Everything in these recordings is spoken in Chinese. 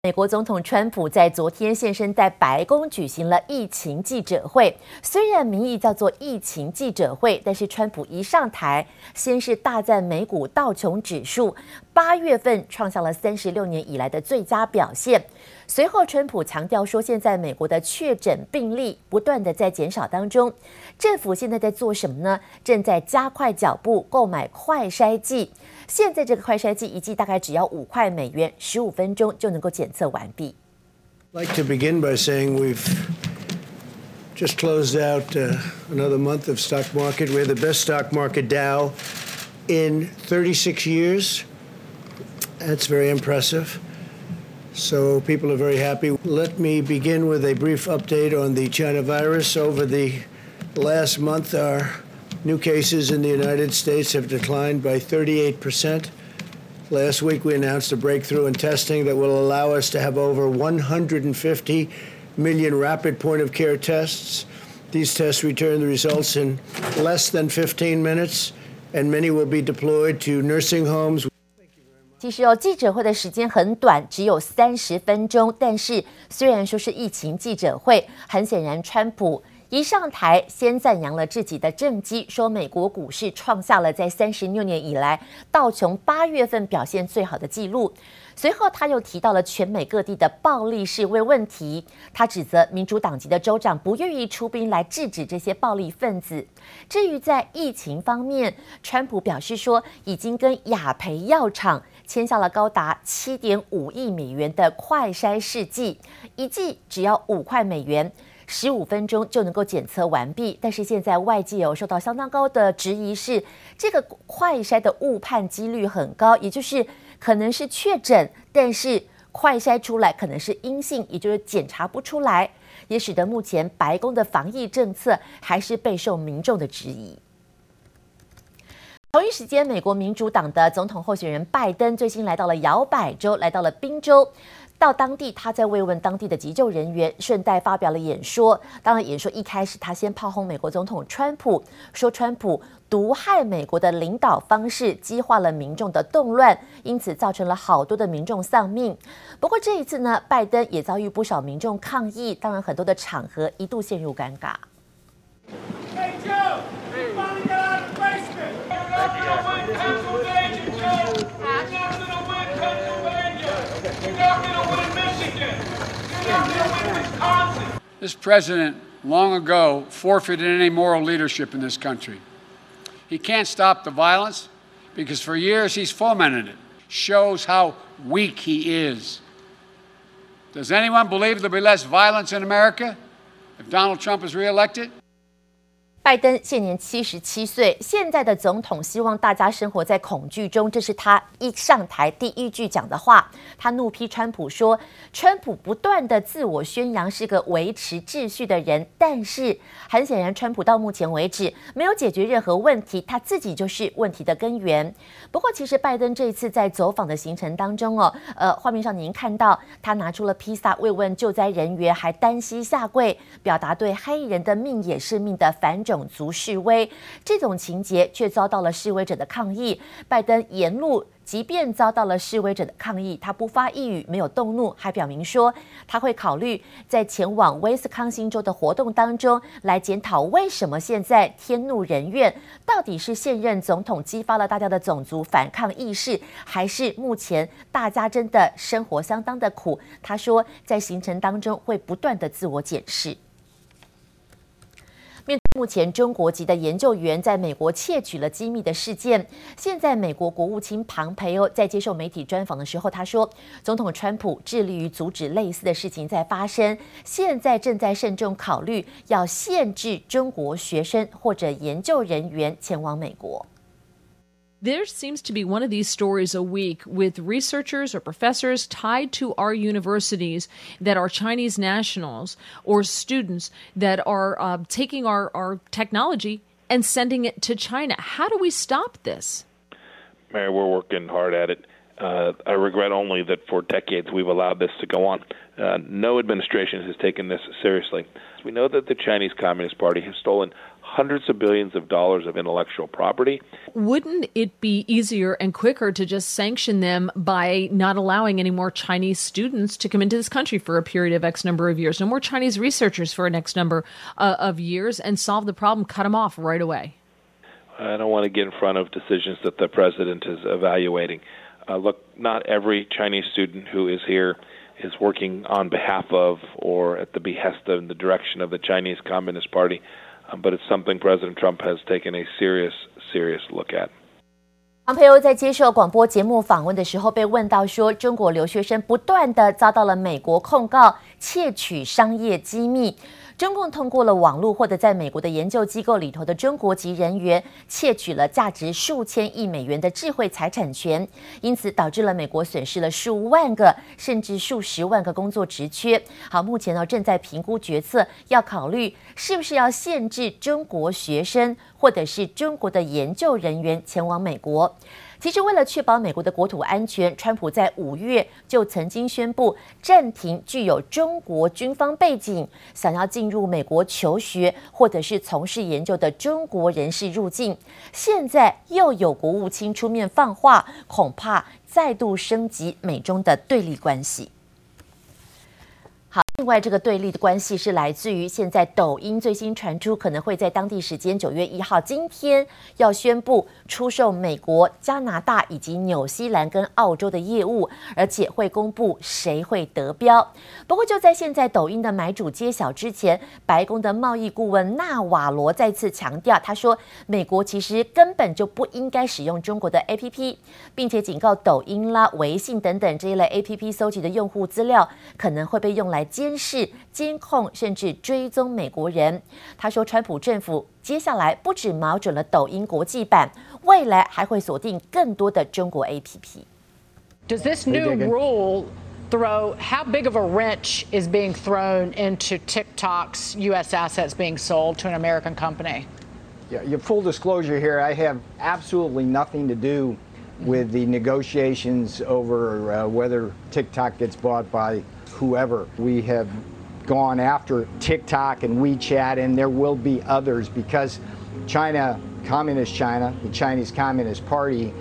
美國總統川普在昨天現身在白宮舉行了疫情記者會，雖然名義叫做疫情記者會，但是川普一上台，先是大讚美股道瓊指數8月份創下了36年以來的最佳表現。隨後，川普強調說，現在美國的確診病例不斷的在減少當中，政府現在在做什麼呢？正在加快腳步購買快篩劑。現在這個快篩劑一劑大概只要5塊美元，15分鐘就能夠檢測完畢。 I'd like to begin by saying we've just closed out another month of stock market. We're the best stock market Dow in 36 years. That's very impressive. So people are very happy. Let me begin with a brief update on the China virus. Over the last month, our new cases in the United States have declined by 38%. Last week, we announced a breakthrough in testing that will allow us to have over 150 million rapid point-of-care tests. These tests return the results in less than 15 minutes, and many will be deployed to nursing homes. 其實記者會的時間很短，只有30分鐘。但是雖然說是疫情記者會，很顯然，川普一上台先讚揚了自己的政績，說美國股市創下了在36年以來道瓊8月份表現最好的記錄。隨後他又提到了全美各地的暴力示威問題，他指責民主黨籍的州長不願意出兵來制止這些暴力分子。至於在疫情方面，川普表示說，已經跟雅培藥廠簽下了高達7.5億美元的快篩試劑，一劑只要5塊美元，15分鐘就能夠檢測完畢。但是現在外界有受到相當高的質疑是，這個快篩的誤判幾率很高，也就是可能是確診，但是快篩出來可能是陰性，也就是檢查不出來，也使得目前白宮的防疫政策還是備受民眾的質疑。同一時間，美國民主黨的總統候選人拜登最新來到了搖擺州，來到了賓州。到當地，他在慰問當地的急救人員，順帶發表了演說。當然，演說一開始，他先炮轟美國總統川普，說川普毒害美國的領導方式激化了民眾的動亂，因此造成了好多的民眾喪命。不過這一次呢，拜登也遭遇不少民眾抗議，當然很多的場合一度陷入尷尬。 Hey Joe, you finally got out of the basement. You're not gonna win Pennsylvania, Joe. You're not gonna win Pennsylvania. You're not gonna win Michigan. You're not gonna win Wisconsin. This president long ago forfeited any moral leadership in this country. He can't stop the violence because for years he's fomented it. Shows how weak he is. Does anyone believe there'll be less violence in America if Donald Trump is reelected? 拜登現年77歲，現在的總統希望大家生活在恐懼中，這是他一上台第一句講的話。他怒批川普說，川普不斷的自我宣揚是個維持秩序的人，但是很顯然，川普到目前為止沒有解決任何問題，他自己就是問題的根源。不過，其實拜登這一次在走訪的行程當中畫面上您看到他拿出了披薩慰問救災人員，還單膝下跪，表達對黑人的命也是命的反種族示威，這種情節卻遭到了示威者的抗議。拜登沿路即便遭到了示威者的抗議，他不發一語，沒有動怒，還表明說他會考慮在前往威斯康星州的活動當中來檢討為什麼現在天怒人怨，到底是現任總統激發了大家的種族反抗意識，還是目前大家真的生活相當的苦？他說在行程當中會不斷的自我檢視。面對目前中國籍的研究員在美國竊取了機密的事件，現在美國國務卿龐培歐在接受媒體專訪的時候，他說，總統川普致力於阻止類似的事情在發生，現在正在慎重考慮要限制中國學生或者研究人員前往美國。 There seems to be one of these stories a week with researchers or professors tied to our universities that are Chinese nationals or students that are taking our technology and sending it to China. How do we stop this? Mary, we're working hard at it. I regret only that for decades we've allowed this to go on. No administration has taken this seriously. We know that the Chinese Communist Party has stolen hundreds of billions of dollars of intellectual property. Wouldn't it be easier and quicker to just sanction them by not allowing any more Chinese students to come into this country for a period of X number of years, no more Chinese researchers for an X number of years, and solve the problem, cut them off right away? I don't want to get in front of decisions that the president is evaluating. Look, not every Chinese student who is here is working on behalf of or at the behest of the direction of the Chinese Communist Party, but it's something President Trump has taken a serious look at. 庞培欧在接受廣播節目訪問的時候被問到說，中國留學生不斷地遭到了美國控告竊取商業機密。中共通過了網絡或者在美國的研究機構裡頭的中國籍人員竊取了價值數千億美元的智慧財產權，因此導致了美國損失了數萬個甚至數十萬個工作職缺。好，目前正在評估決策，要考慮是不是要限制中國學生或者是中國的研究人員前往美國。其實為了確保美國的國土安全，川普在5月就曾經宣布暫停具有中國軍方背景、想要進入美國求學或者是從事研究的中國人士入境。現在又有國務卿出面放話，恐怕再度升級美中的對立關係。好，另外這個對立的關係是來自於現在抖音最新傳出可能會在當地時間9月1號今天要宣布出售美國、加拿大以及紐西蘭跟澳洲的業務，而且會公布誰會得標。不過就在現在抖音的買主揭曉之前，白宮的貿易顧問納瓦羅再次強調，他說美國其實根本就不應該使用中國的 APP， 並且警告抖音啦、微信等等這一類 APP 搜集的用戶資料可能會被用來監視、監控甚至追蹤美國人。他說，川普政府接下來不只瞄準了抖音國際版，未來還會鎖定更多的中國 APP。 Does this new rule throw, how big of a wrench is being thrown into TikTok's U.S. assets being sold to an American company? Yeah, your full disclosure here, I have absolutely nothing to do with the negotiations over whether TikTok gets bought by whoever. We have gone after TikTok and WeChat, and there will be others because China, Communist China, the Chinese Communist Party,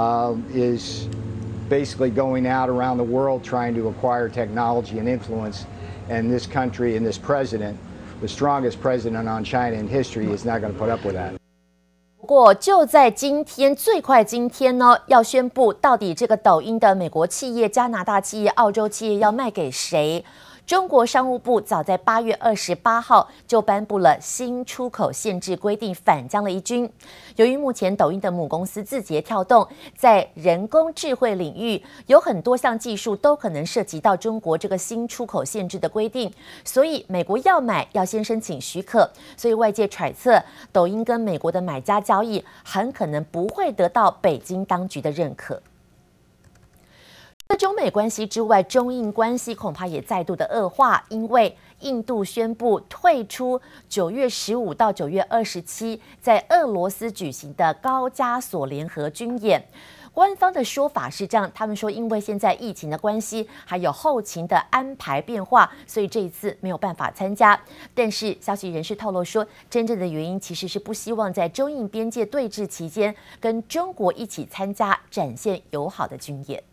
is basically going out around the world trying to acquire technology and influence. And this country and this president, the strongest president on China in history, is not going to put up with that. 不過就在今天，最快今天呢，要宣布到底这個抖音的美國企業、加拿大企業、澳洲企業要賣給誰？中國商務部早在8月28號就頒布了新出口限制規定，反將了一軍。由於目前抖音的母公司字節跳動在人工智慧領域有很多項技術都可能涉及到中國這個新出口限制的規定，所以美國要買要先申請許可。所以外界揣測，抖音跟美國的買家交易很可能不會得到北京當局的認可。除了中美關係之外，中印關係恐怕也再度的惡化，因為印度宣布退出9月15到9月27在俄羅斯舉行的高加索聯合軍演。官方的說法是這樣，他們說因為現在疫情的關係，還有後勤的安排變化，所以這一次沒有辦法參加。但是消息人士透露說，真正的原因其實是不希望在中印邊界對峙期間跟中國一起參加，展現友好的軍演。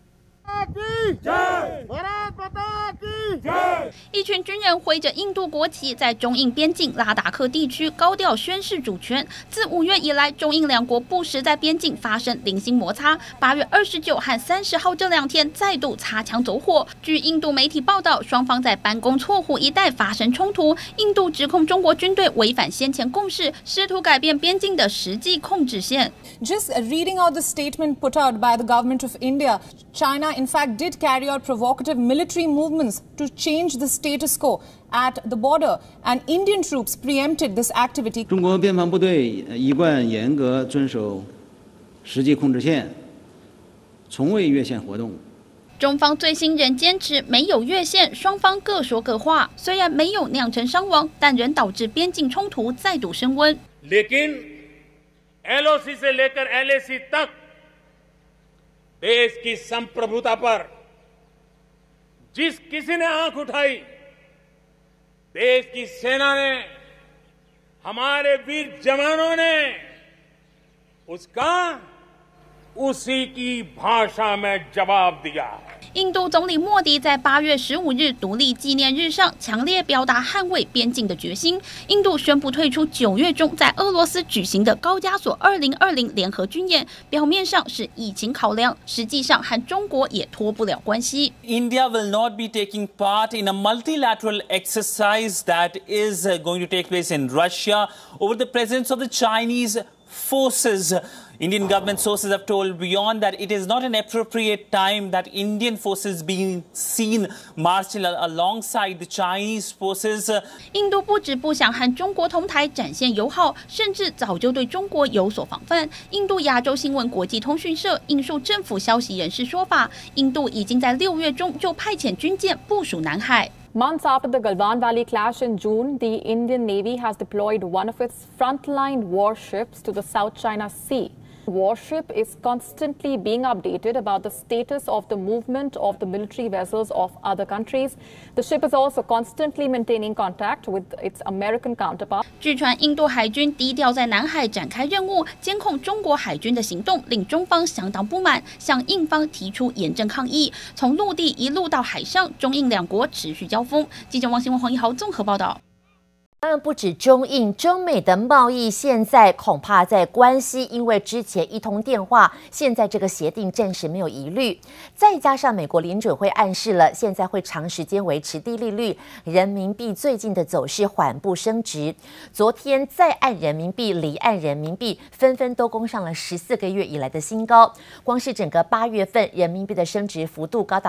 一群軍人揮着印度國旗，在中印邊境拉達克地區高調宣示主權。自5月以來，中印兩國不時在邊境發生零星摩擦。8月29和30號這兩天再度擦槍走火。據印度媒體報道，雙方在班公錯湖一帶發生衝突。印度指控中國軍隊違反先前共識，試圖改變邊境的實際控制線。 Just reading out the statement put out by the government of India, China in fact did carry out provocative military movements to change the status quo at the border, and Indian troops preempted this activity. 中國邊防部隊一貫嚴格遵守實際控制線，從未越線活動。 中方最新仍堅持沒有越線，雙方各說各話。雖然沒有釀成傷亡，但仍導致邊境衝突再度升溫。 लेकिन LOC से लेकर LAC तक देश की संप्रभुता पर जिस किसी ने आंख उठाई, देश की सेना ने हमारे वीर जवानों ने उसका उसी की भाषा में जवाब दिया。 印度总理莫迪在8月15日独立纪念日上强烈表达捍衛邊境的決心。印度宣布退出9月中在俄羅斯舉行的高加索2020聯合軍演，表面上是疫情考量，實際上和中國也脫不了關係。 India will not be taking part in a multilateral exercise that is going to take place in Russia over the presence of the Chinese forces. Indian government sources have told Beyond that it is not an appropriate time that Indian forces being seen marching alongside the Chinese forces. 印度不止不想和中國同台展現友好，甚至早就對中國有所防範。印度亞洲新聞國際通訊社引述政府消息人士說法，印度已經在6月中就派遣軍艦部署南海。 Months after the Galwan Valley clash in June, the Indian Navy has deployed one of its frontline warships to the South China Sea. The warship is constantly being updated about the status of the movement of the military vessels of other countries. The ship is also constantly maintaining contact with its American counterpart. 據傳，印度海軍低調在南海展開任務，監控中國海軍的行動，令中方相當不滿，向印方提出嚴正抗議。從陸地一路到海上，中印兩國持續交鋒。記者王新文、黃一豪綜合報道。 當然不止中印、中美的貿易，現在恐怕在關係，因為之前一通電話，現在這個協定暫時沒有疑慮。再加上美國聯準會暗示了，現在會長時間維持低利率，人民幣最近的走勢緩步升值。昨天在岸人民幣、離岸人民幣紛紛都攻上了14個月以來的新高。光是整個8月份，人民幣的升值幅度高達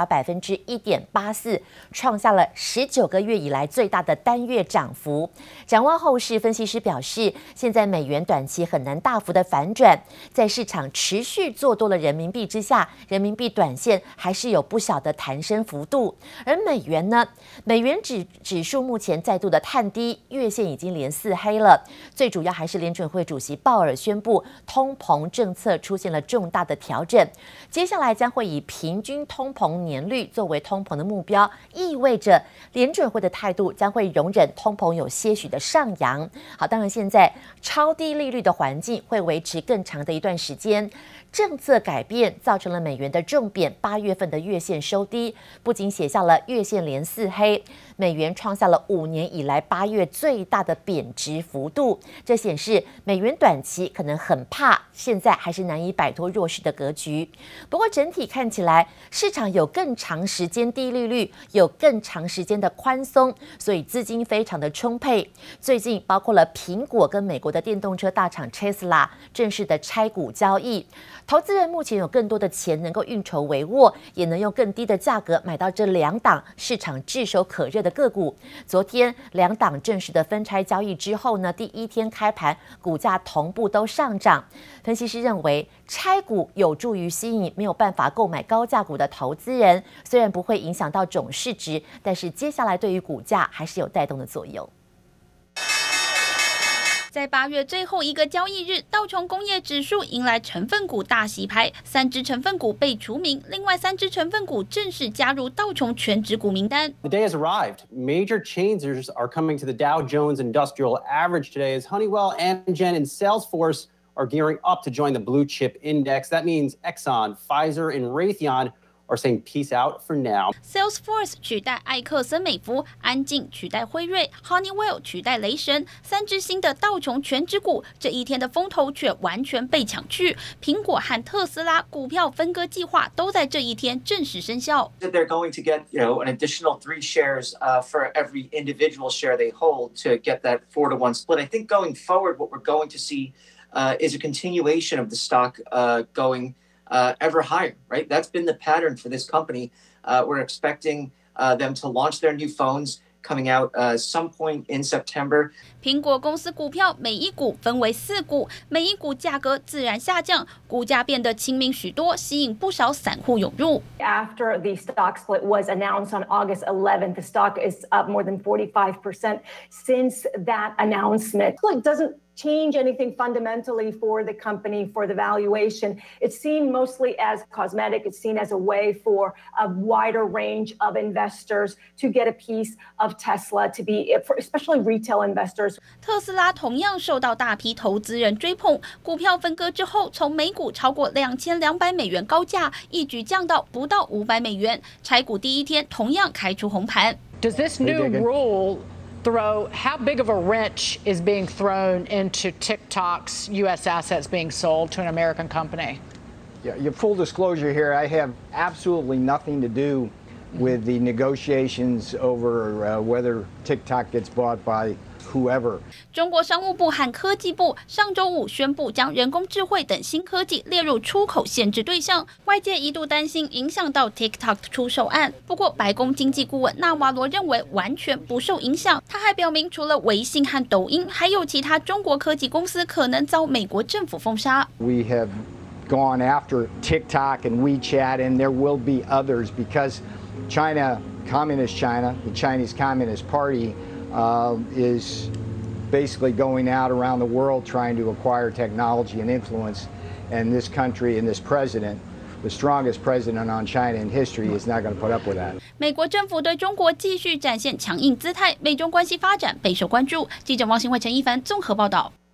1.84%，創下了19個月以來最大的單月漲幅。展望後市，分析師表示，現在美元短期很難大幅的反轉，在市場持續做多了人民幣之下，人民幣短線還是有不小的彈升幅度。而美元呢？美元指數目前再度的探低，月線已經連4黑了。最主要還是聯準會主席鮑爾宣布，通膨政策出現了重大的調整，接下來將會以平均通膨年率作為通膨的目標，意味着聯準會的態度將會容忍通膨有些許的上揚。好，當然現在超低利率的環境會維持更長的一段時間。政策改變造成了美元的重貶，8月份的月線收低，不僅寫下了月線連4黑，美元創下了5年以來8月最大的貶值幅度。這顯示美元短期可能很怕，現在還是難以擺脫弱勢的格局。不過整體看起來，市場有更長時間低利率，有更長時間的寬鬆，所以資金非常的充沛。最近包括了蘋果跟美國的電動車大廠 Tesla 正式的拆股交易。投資人目前有更多的錢能夠運籌帷幄，也能用更低的價格買到這兩檔市場炙手可熱的個股。昨天兩檔正式的分拆交易之後呢，第一天開盤股價同步都上漲。分析師認為，拆股有助於吸引沒有辦法購買高價股的投資人，雖然不會影響到總市值，但是接下來對於股價還是有帶動的作用。 在8月最後一個交易日，道瓊工業指數迎來成分股大洗牌，3隻成分股被除名，另外3隻成分股正式加入道瓊全指股名單。 The day has arrived. Major changers are coming to the Dow Jones Industrial Average today as Honeywell, Amgen, and Salesforce are gearing up to join the blue chip index. That means Exxon, Pfizer, and Raytheon are saying peace out for now. Salesforce 取代艾克森美孚，安進取代輝瑞 ，Honeywell 取代雷神，3隻新的道瓊全指股，這一天的風頭卻完全被搶去。蘋果和特斯拉股票分割計劃都在這一天正式生效。 They're going to get, an additional 3 shares for every individual share they hold to get that 4-to-1 split. I think going forward, what we're going to see is a continuation of the stock going ever higher, right? That's been the pattern for this company. We're expecting them to launch their new phones coming out some point in September. 蘋果公司股票每一股分為4股，每一股價格自然下降，股價變得親民許多，吸引不少散戶湧入。 After the stock split was announced on August 11th, the stock is up more than 45% since that announcement. It doesn't change anything fundamentally for the company, for the valuation. It's seen mostly as cosmetic. It's seen as a way for a wider range of investors to get a piece of Tesla, to be, especially retail investors. 特斯拉同樣受到大批投資人追捧，股票分割之後，從每股超過2200美元高價，一舉降到不到500美元。拆股第一天，同樣開出紅盤。 Does this new rule throw how big of a wrench is being thrown into TikTok's U.S. assets being sold to an American company? Yeah, full disclosure here, I have absolutely nothing to do with the negotiations over whether TikTok gets bought by whoever. 中國商務部和科技部上周五宣布，將人工智慧等新科技列入出口限制對象，外界一度擔心影響到 TikTok 出售案。不過，白宮經濟顧問納瓦羅認為完全不受影響。他還表明，除了微信和抖音，還有其他中國科技公司可能遭美國政府封殺。 We have gone after TikTok and WeChat, and there will be others because China, Communist China, the Chinese Communist Party, is basically going out around the world trying to acquire technology and influence, and this country and this president, the strongest president on China in history, is not going to put up with that. 美國政府對中國繼續展現強硬姿態，美中關係發展備受關注。記者王新惠、陳一凡綜合報道。